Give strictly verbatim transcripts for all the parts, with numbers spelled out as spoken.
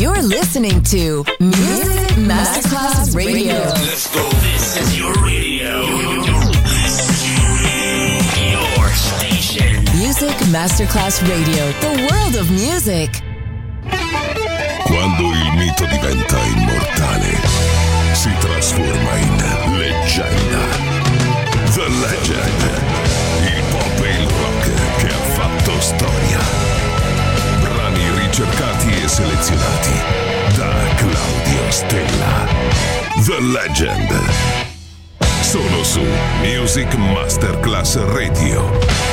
You're listening to Music Masterclass Radio. Let's go. This is your radio. Your station. Music Masterclass Radio. The world of music. Quando il mito diventa immortale, si trasforma in leggenda. The Legend. Il pop e il rock che ha fatto storia. Brani ricercati e selezionati da Claudio Stella. The Legend. Solo su Music Masterclass Radio.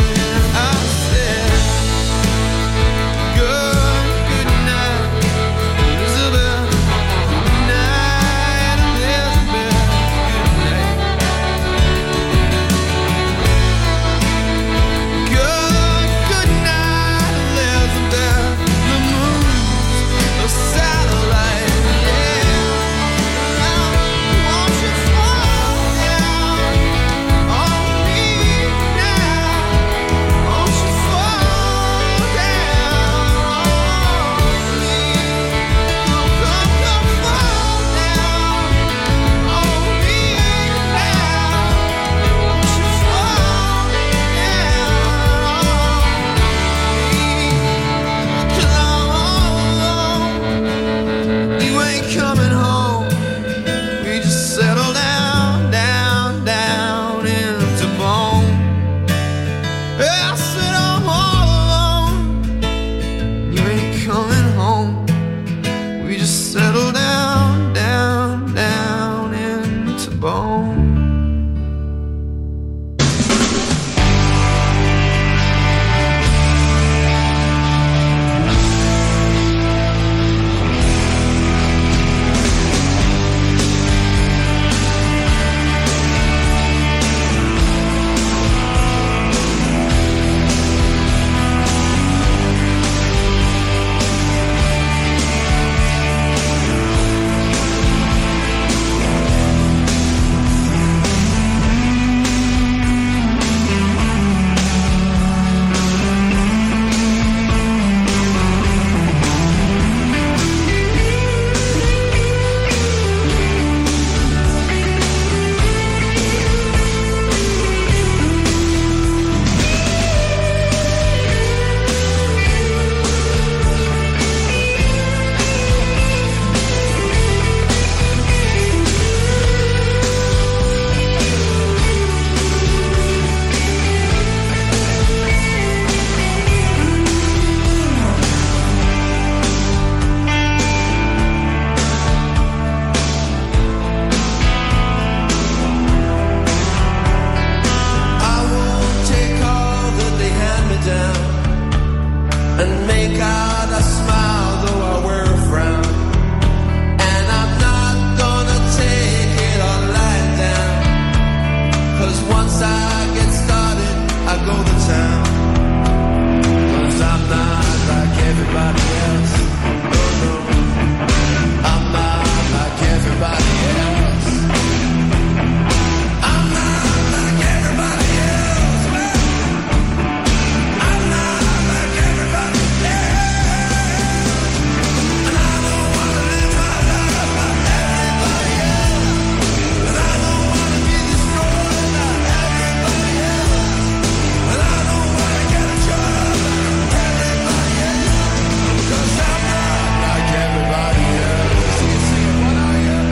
Good, good night. and make out a smile though I wear a frown. And I'm not gonna take it all lying down, 'cause once I get started I go to town. 'Cause I'm not like everybody else. No, no, I'm not like everybody else. I'm not like everybody else, man. I'm not like everybody else. And I don't wanna live my life like everybody else. And I don't wanna be destroyed like everybody else. And I don't wanna get a job like everybody else. 'Cause I'm not like everybody else. Sing it, sing it, what are you?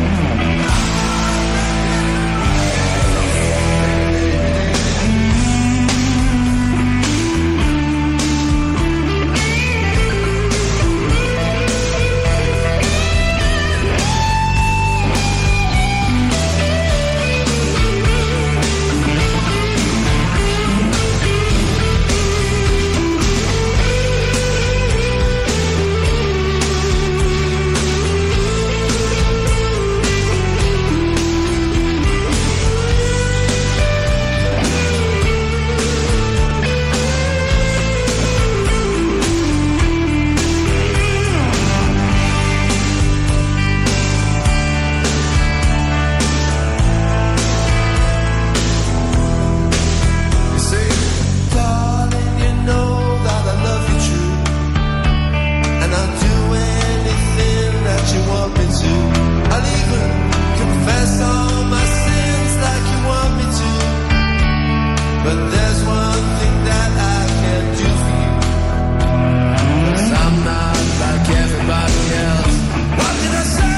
You say, darling, you know that I love you true, and I'll do anything that you want me to. I'll even confess all my sins like you want me to. But there's one thing that I can't do for you, 'cause I'm not like everybody else. What did I say?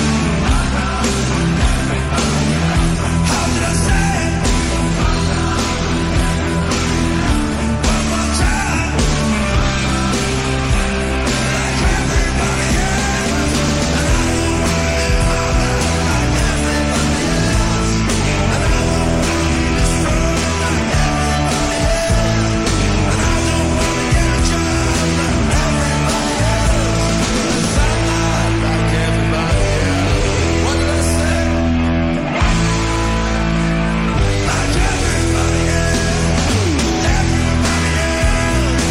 How did I say it? One more time. Like everybody else. And I don't wanna live my life like everybody else. And I don't wanna be destroyed like everybody else. And I don't wanna get a job like everybody else. 'Cause I'm not like everybody else. What did I say? Like everybody else. Everybody else.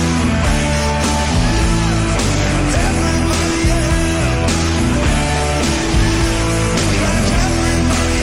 Everybody else. Like everybody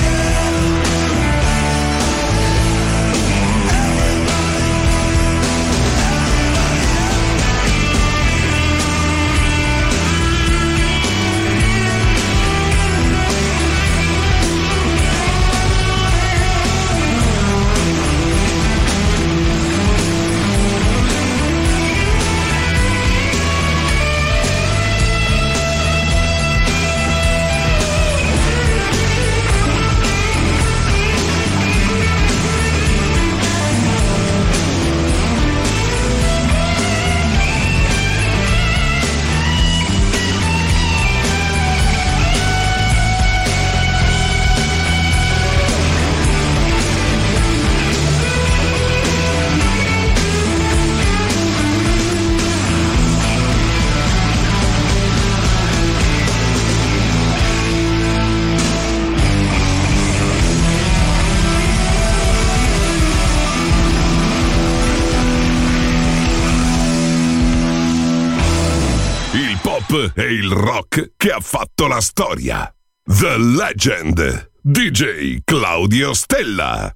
Il pop e il rock che ha fatto la storia. The Legend. D J Claudio Stella.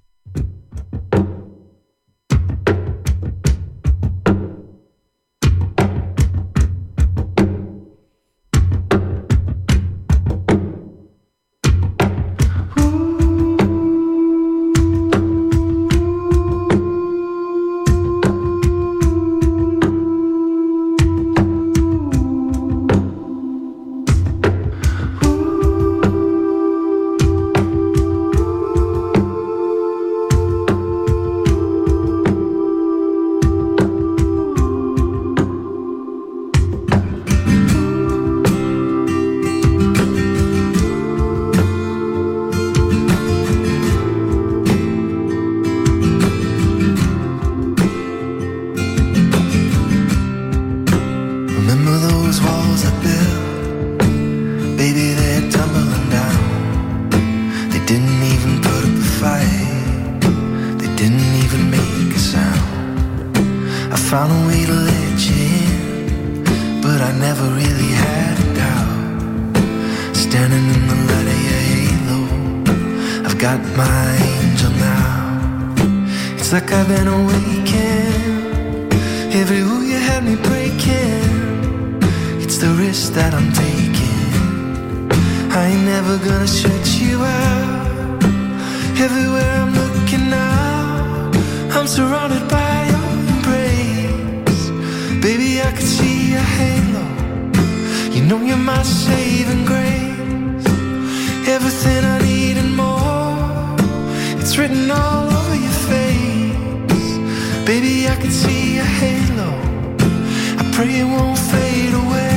Remember those walls I built? Baby, they're tumbling down. They didn't even put up a fight. They didn't even make a sound. I found a way to let you in, but I never really had a doubt. Standing in the light of your halo, I've got my angel now. It's like I've been awakened. Every rule you had me breaking, it's the risk that I'm taking. I ain't never gonna shut you out. Everywhere I'm looking now, I'm surrounded by your embrace. Baby, I can see your halo. You know you're my saving grace. Everything I need and more, it's written all over your face. Baby, I can see your halo. I pray it won't fade away.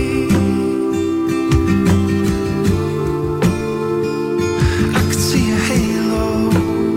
I can see your halo.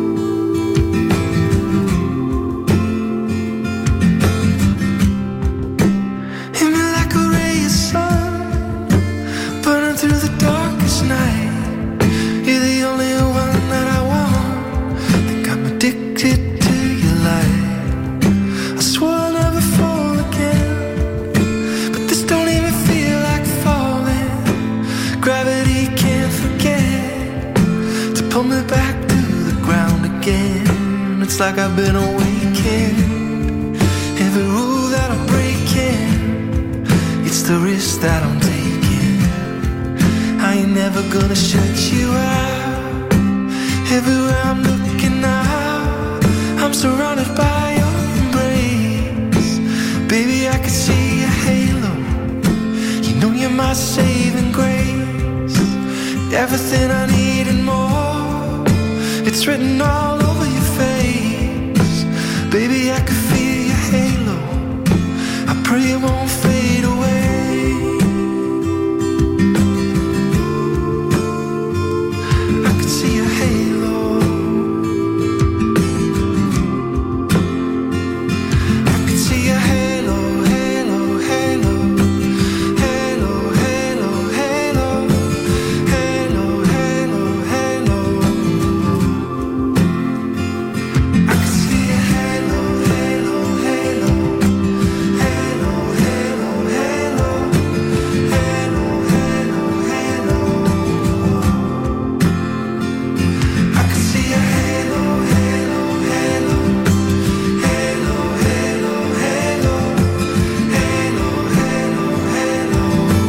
Hit me like a ray of sun, burning through the darkest night. You're the only one that I want. Think I'm addicted to your light. I swore I'll never fall again, but this don't even feel like falling. Gravity can't forget to pull me back to the ground again. It's like I've been awakened. Every rule that I'm breaking, it's the risk that I'm taking. I ain't never gonna shut you out. Everywhere I'm looking now, I'm surrounded by your embrace. Baby, I can see your halo. You know you're my saving grace. Everything I need and more, it's written all over your face. Baby, I can feel your halo. I pray it won't fade away. I can see your halo. I can see your halo, halo, halo, halo, halo, halo, halo, halo, halo. I can see your halo, halo, halo, halo, halo, halo, halo, halo, halo. I can see your halo, halo, halo, halo, halo, halo, halo, halo, halo.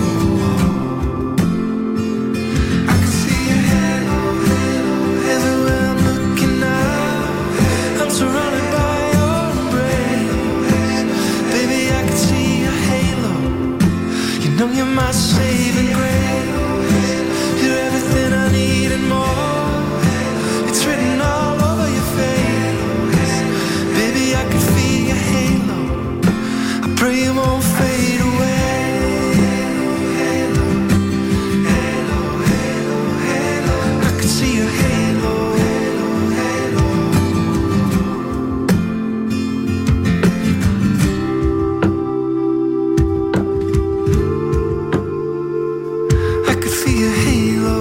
I can see your halo, halo, everywhere I'm looking now. I'm surrounded by your embrace. Baby, I can see your halo. You know you're my saving grace. You're everything I need and more. It's written all over your face. Baby, I can feel your halo. I pray it won't fade away. Halo, halo, halo, halo. I can see your halo, halo, halo. I could feel your halo.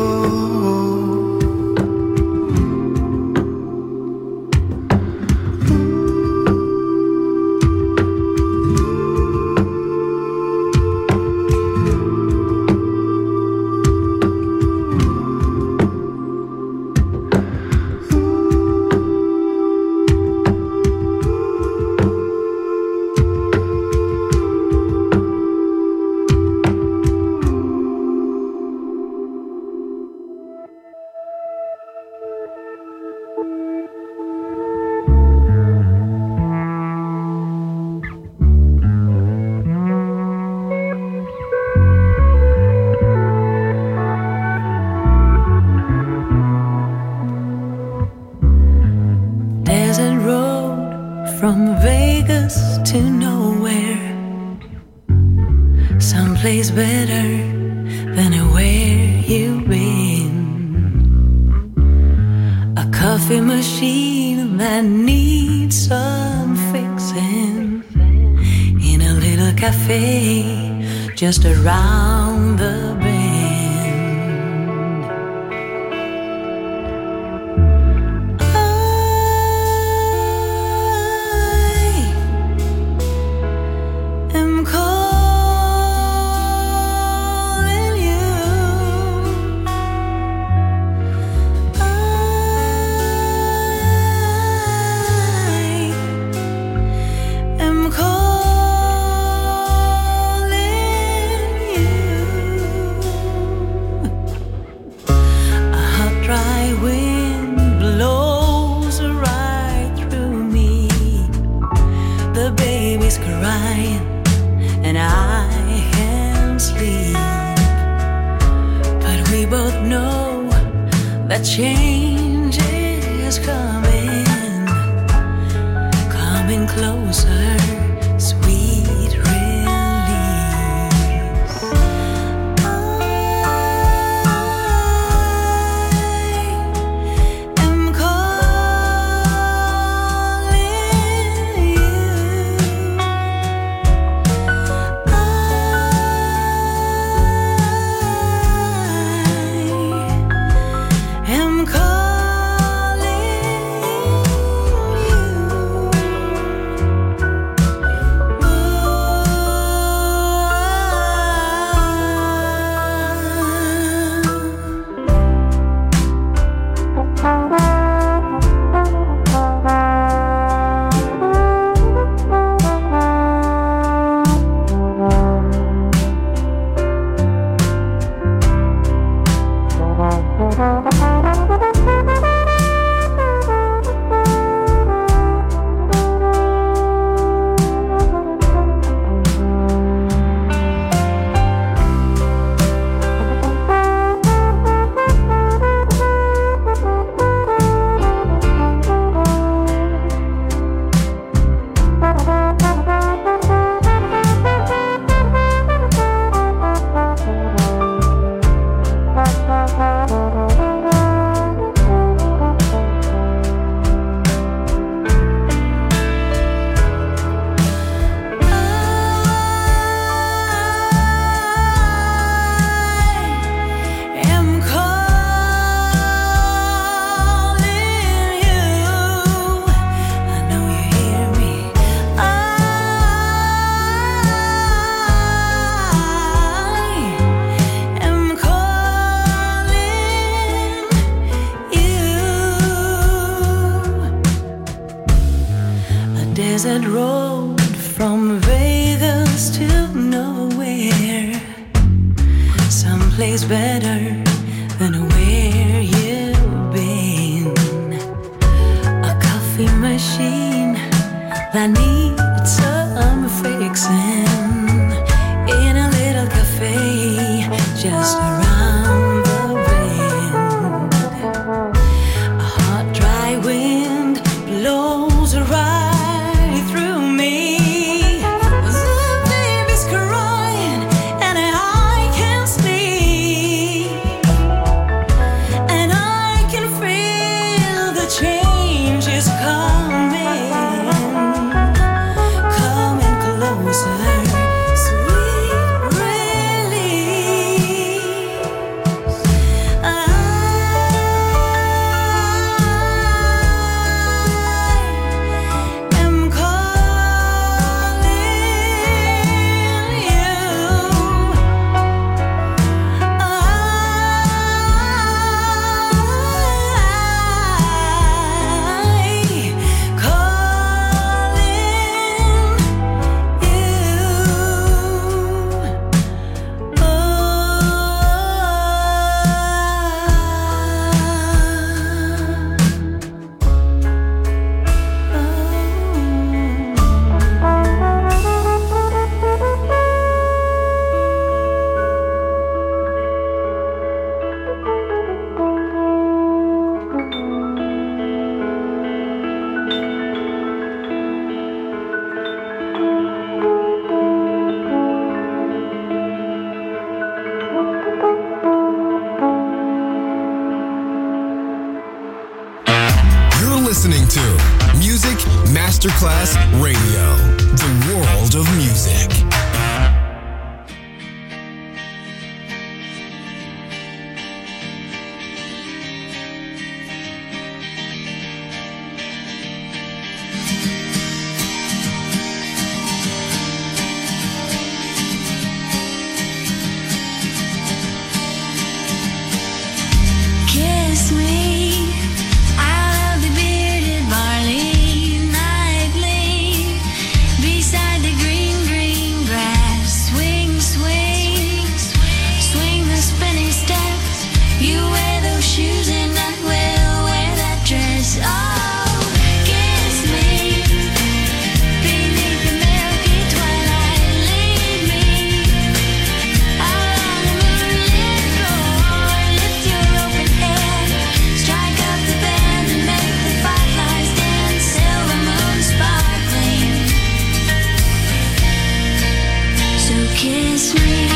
Desert road from Vegas to nowhere, someplace better than anywhere you've been. A coffee machine that needs some fixing in a little cafe just around the bend. I am calling you. I am calling you. A hot, dry wind blows right through me. The baby's crying and I can't sleep. But we both know that change is coming, coming closer, sweet release. I am calling you. I am calling desert road from Vegas to nowhere, someplace better than where you've been. A coffee machine that needs some fixing in a little cafe just around the bend. A hot, dry wind blows right through me. The baby's crying and I can't sleep, and I can feel the change is coming, coming closer, sweet release. I am calling you. I You're listening to Music Masterclass Radio, the world of music. kiss me.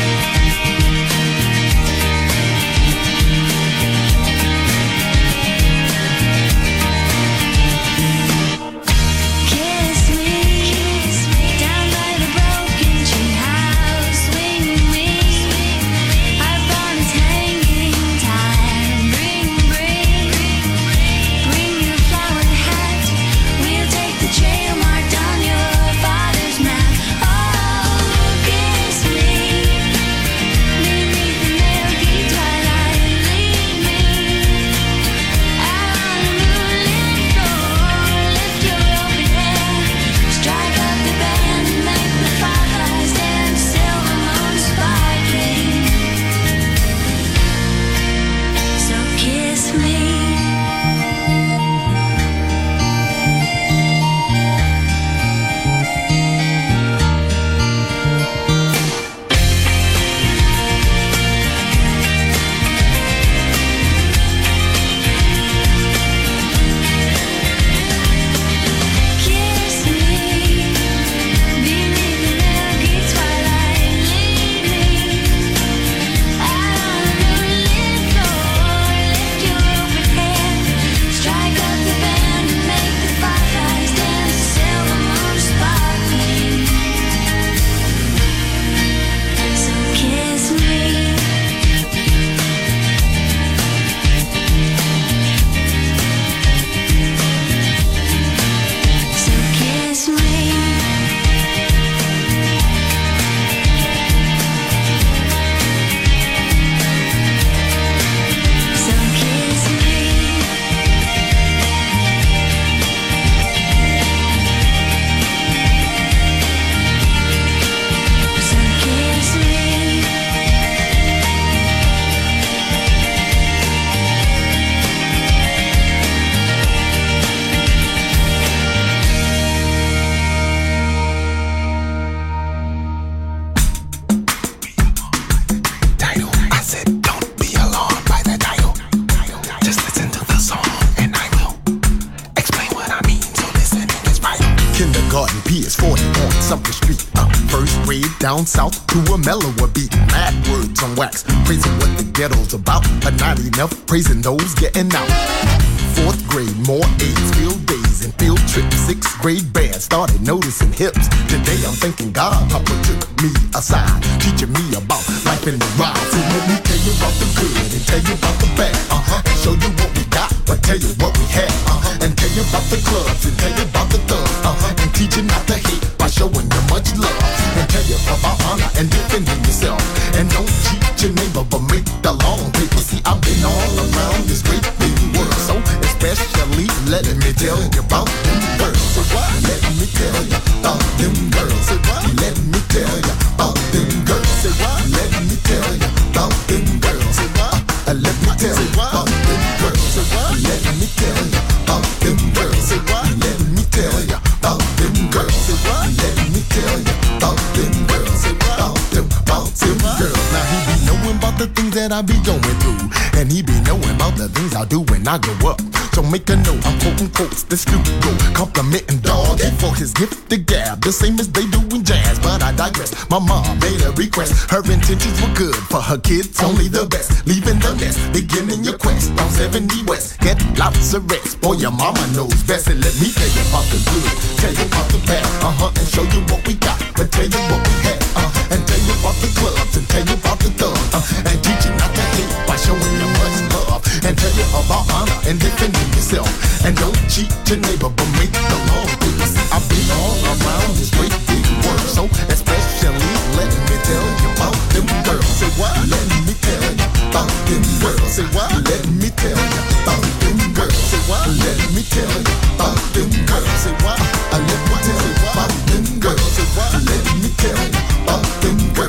Down south to a mellower beat, mad words on wax, praising what the ghetto's about, but not enough praising those getting out. Fourth grade, more A's, field days and field trips. Sixth grade band, started noticing hips. Today I'm thinking God, Papa took me aside, teaching me about life in the ride. So let me tell you about the good and tell you about the bad, uh-huh, and show you what we got, but tell you what we had, uh-huh, and tell you about the clubs and tell you about the thugs, uh-huh, and teach you not to hate by showing you much love, and tell you about honor and defending yourself, and don't cheat your neighbor but make the long paper. See, I've been all around this great big world, so especially let me tell you about them girls. So what? Let me tell you about them girls. So what? Let me tell you about them girls. So what? Let me tell you about them girls. So what? Uh, let me tell you about them girls. So what? Let me tell you about them girls. So what? Let me tell you about them girls. So what? Let me tell you about them girls. So what? About them, about them girls. Now he be knowing about the things that I be going through, and he be knowing about the things I do when I grow up. So make a note, I'm quoting quotes, this Snoop go complimenting dog for his gift to gab, the same as they do in jazz, but I digress. My mom made a request, her intentions were good, for her kids only the best, leaving the nest, beginning your quest, on seventy West, get lots of rest, boy your mama knows best, and let me tell you about the good, tell you about the bad, uh-huh, and show you what we got, but tell you what we had, uh-huh, and tell you about the clubs, and tell you about the thugs, uh, and teach you not to hate by showing you much love, and tell you about honor and defending yourself, and don't cheat your neighbor but make the law. I've been all around this great big world, so especially let me tell you about them girls. Say what? Let me tell you about them girls. Say what? Let me tell you about them girls. Say what? Let me tell you about them girls. Say what? Let me tell you about them girls. Say what? Let me tell you about them girls.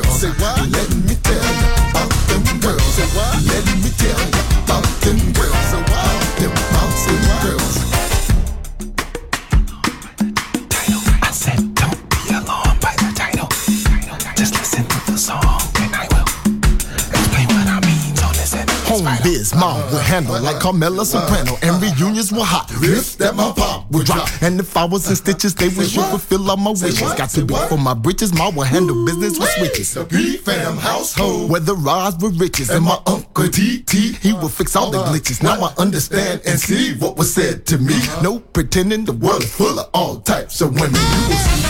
home biz, mom would handle like Carmela Soprano, and reunions were hot. Riffs that my pop would drop, and if I was in stitches, they would sure fulfill all my wishes. Got to be for my britches, mom would handle business with switches. The P-Fam household, where the rods were riches, and my uncle T T, he would fix all the glitches. Now I understand and see what was said to me. No pretending, the world is full of all types of women. You will see.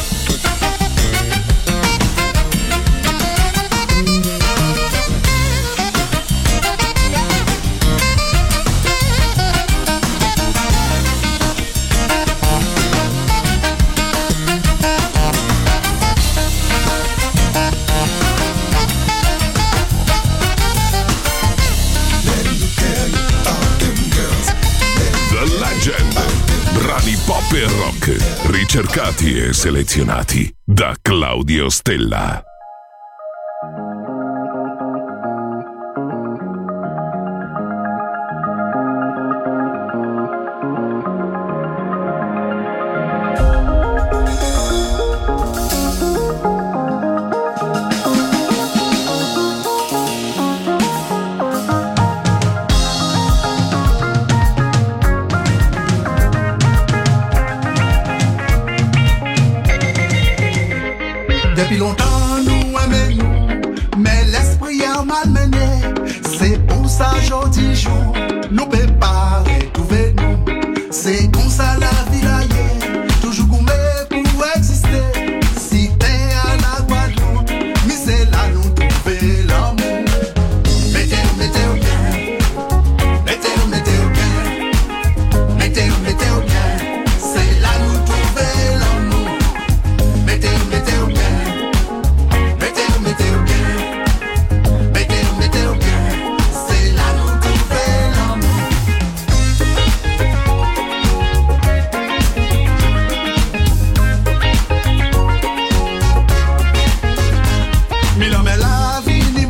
Brani pop e rock, ricercati e selezionati da Claudio Stella. Depuis longtemps nous aimons nous, mais l'esprit a malmené. C'est pour ça aujourd'hui jour, nous préparer, trouver nous. C'est comme ça la vie là est, toujours gourmet pour exister. Si t'es à la Guadeloupe, mais c'est là nous trouver l'amour. Mettez-vous, mettez-vous bien, mettez-vous, mettez-vous bien, mettez-vous, mettez-vous bien, c'est là nous trouver l'amour. Mettez-vous, mettez-vous bien. Mila me la vini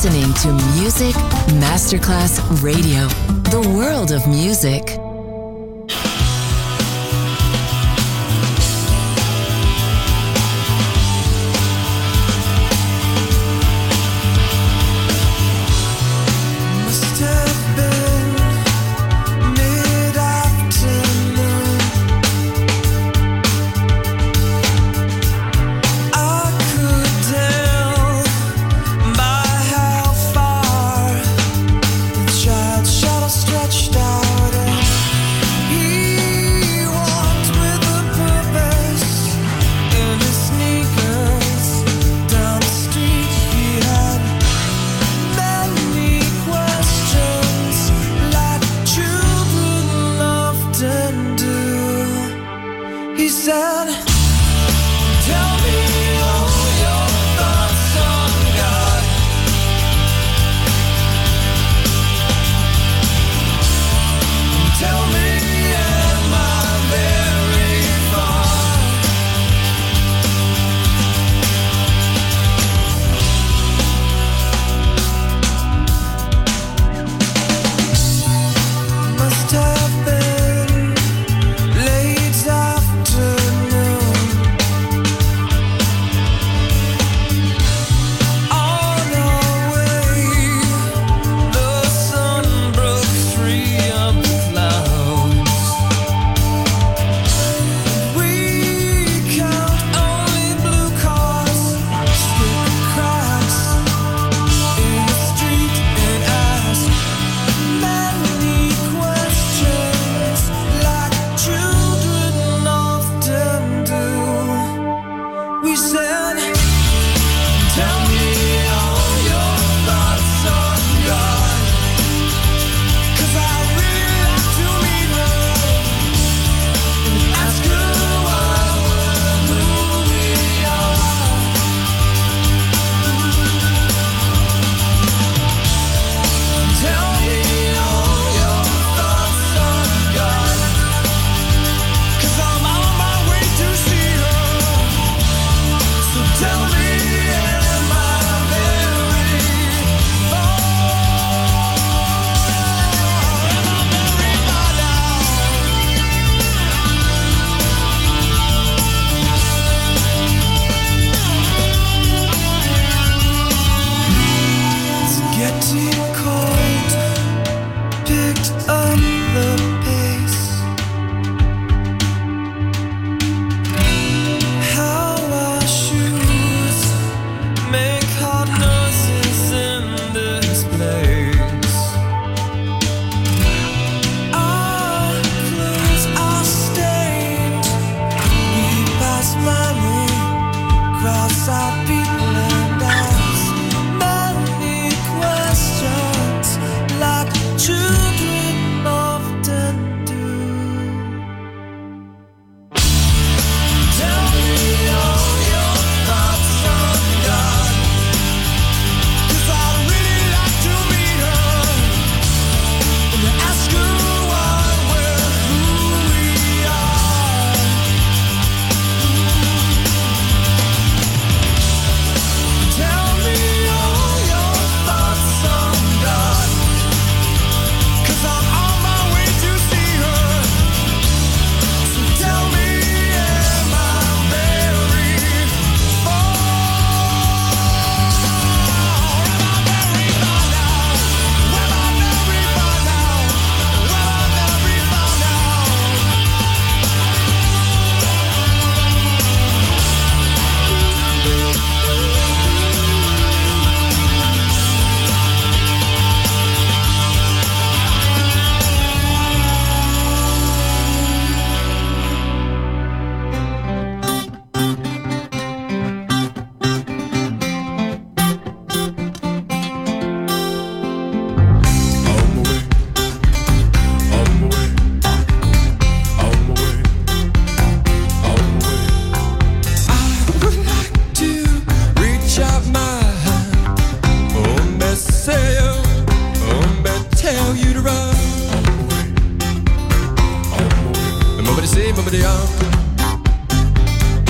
listening to Music Masterclass Radio, the world of music. Stretched out and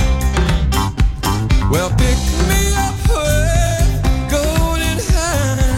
Well, pick me up with golden hands.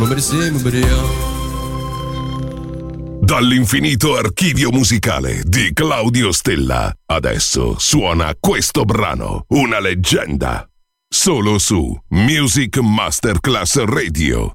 Dall'infinito archivio musicale di Claudio Stella, adesso suona questo brano, una leggenda, solo su Music Masterclass Radio.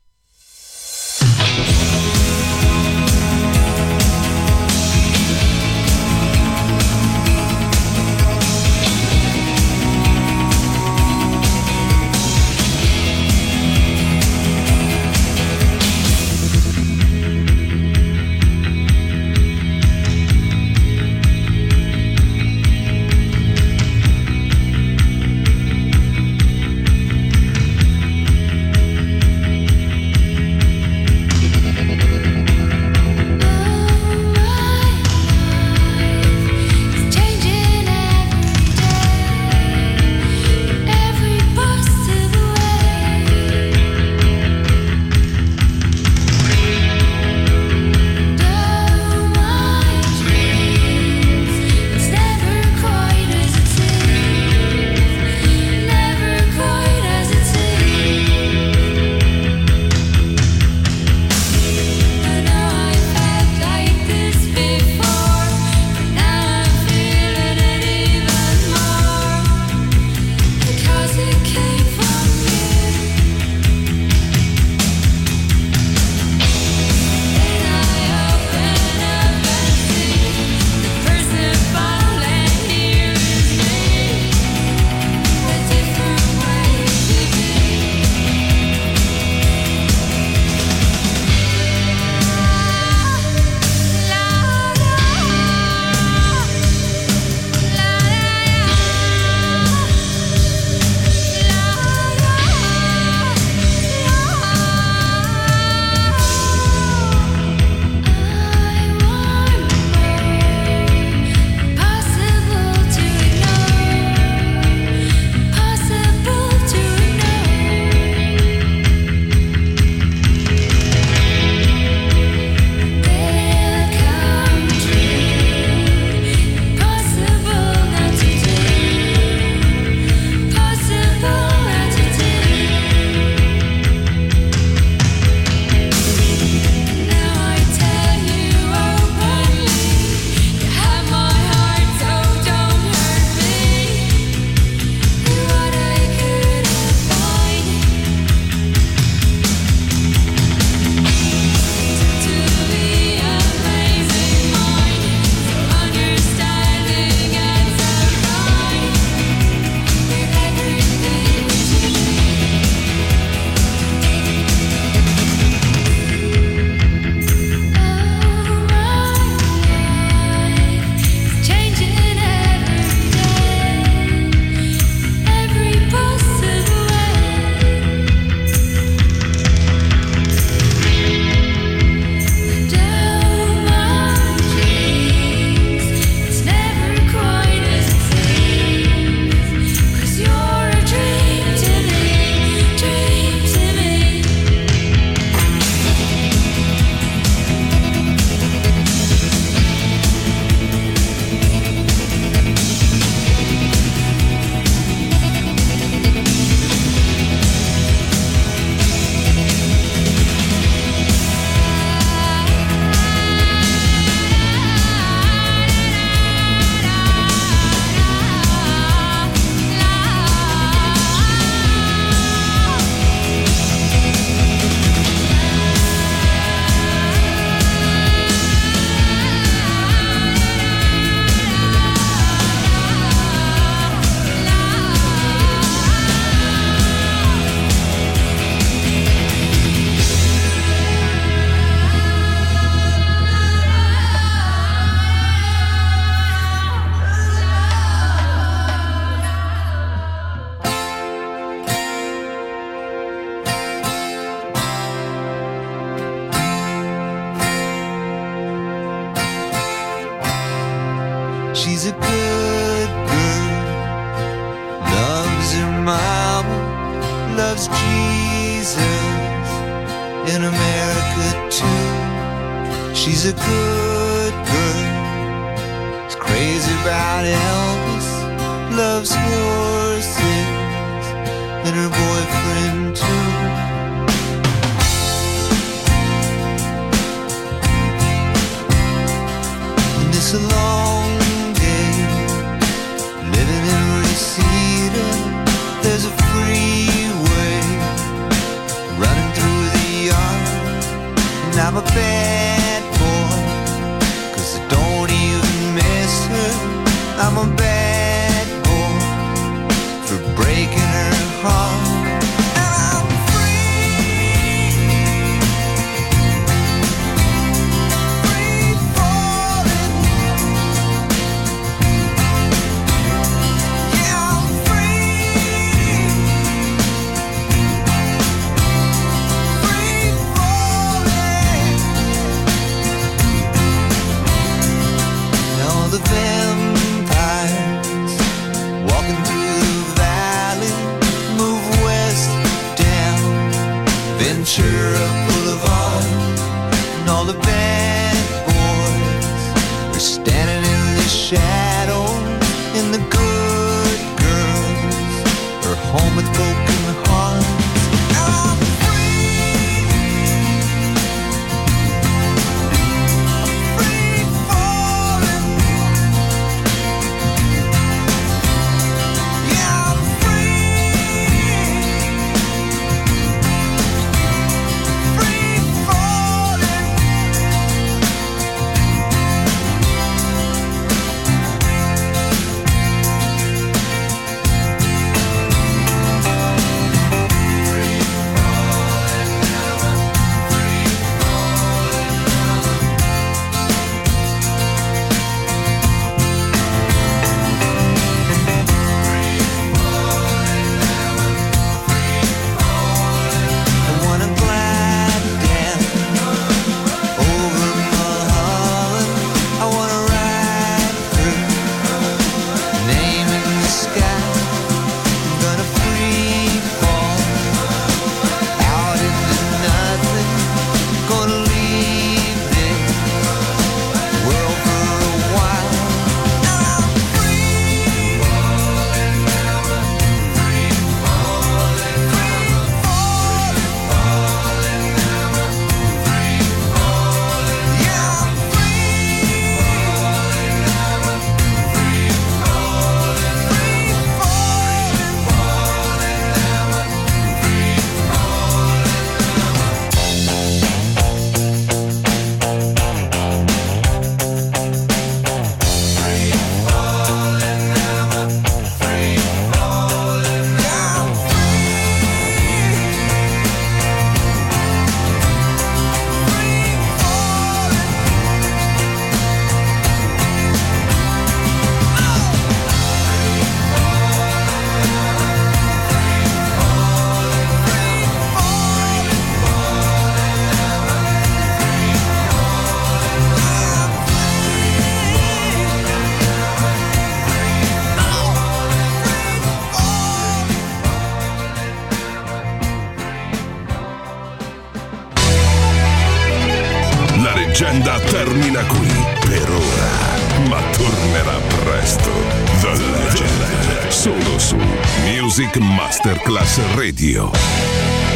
She's a good girl, loves her mama, loves Jesus in America too. She's a good girl, is crazy about Elvis, loves horses and her boyfriend too. I'm a bad boy, 'cause I don't even miss her. I'm a bad boy for breaking her heart. And I'm free, free falling. Yeah, I'm free, free falling. And all the vampires walking through the valley move west down Ventura Boulevard, and all the bad boys are standing in the shadows, and the good girls are home with broken hearts. I'm free, free falling. Yeah, I'm free, free falling. I wanna glide down over Mulholland. I wanna ride through, name in the sky. I'm gonna free fall out into nothing. Gonna leave this world for a while. And I'm free, free falling, free falling. Yeah, I'm free, free La leggenda termina qui per ora, ma tornerà presto. The Legend, solo su Music Masterclass Radio.